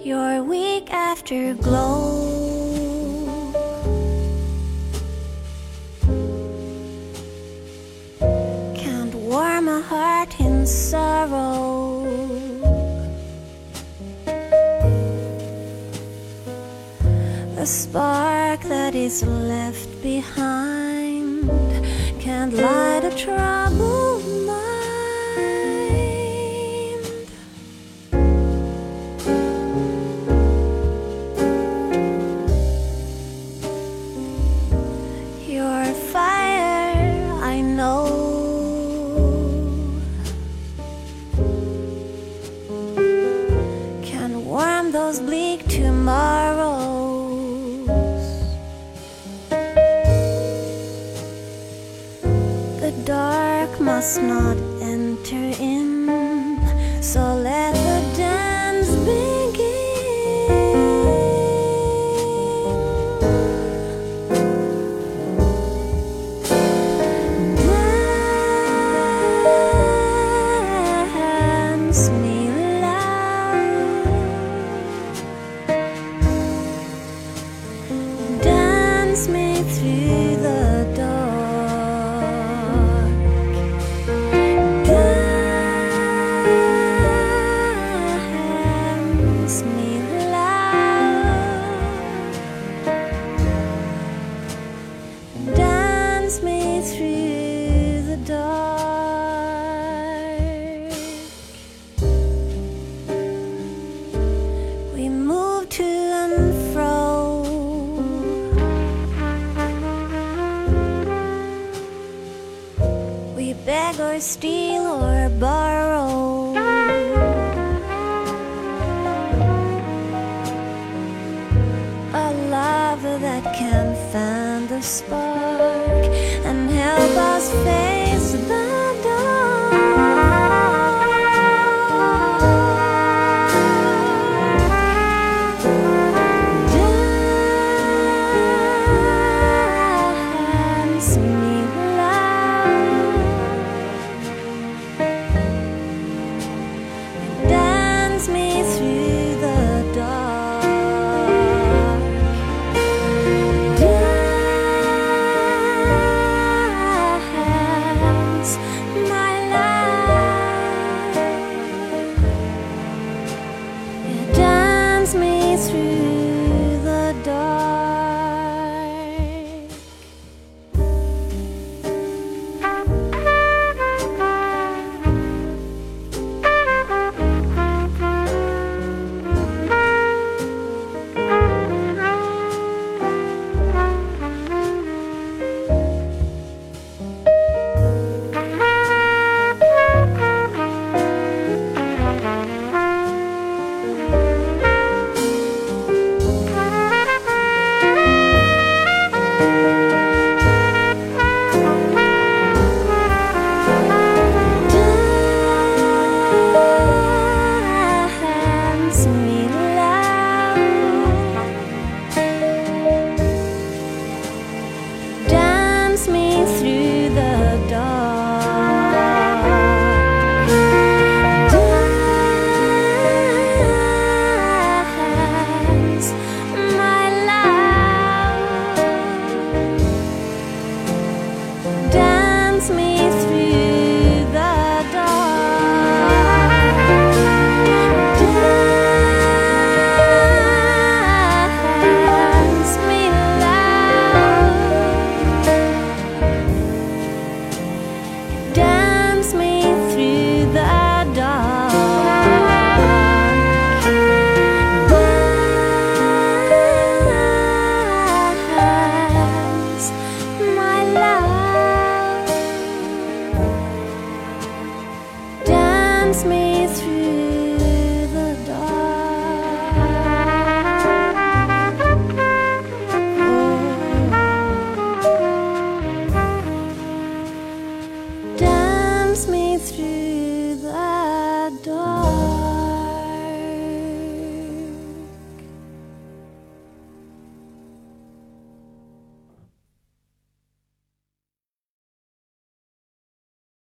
your weak afterglow. Can't warm a heart in sorrow. A spark that is left behind can't light a troubled mind. Your fire, I know, can warm those bleak tomorrows. The dark must not enter in, so let the dance begin. Dance me loud, dance me through the dark. Dance me loud, dance me through the dark. We move to and fro, we beg or steal or borrow. A love that can fan the spark and help us face the dance me loud, dance me through the dark. Dance, my love, dance me through the dark. Dance me loud, dance me through the dark. Dance, my love, dance me through the dark. Dance me loud, dance me through the dark. Dance, my love, dance me through the dark. Dance me through the dark.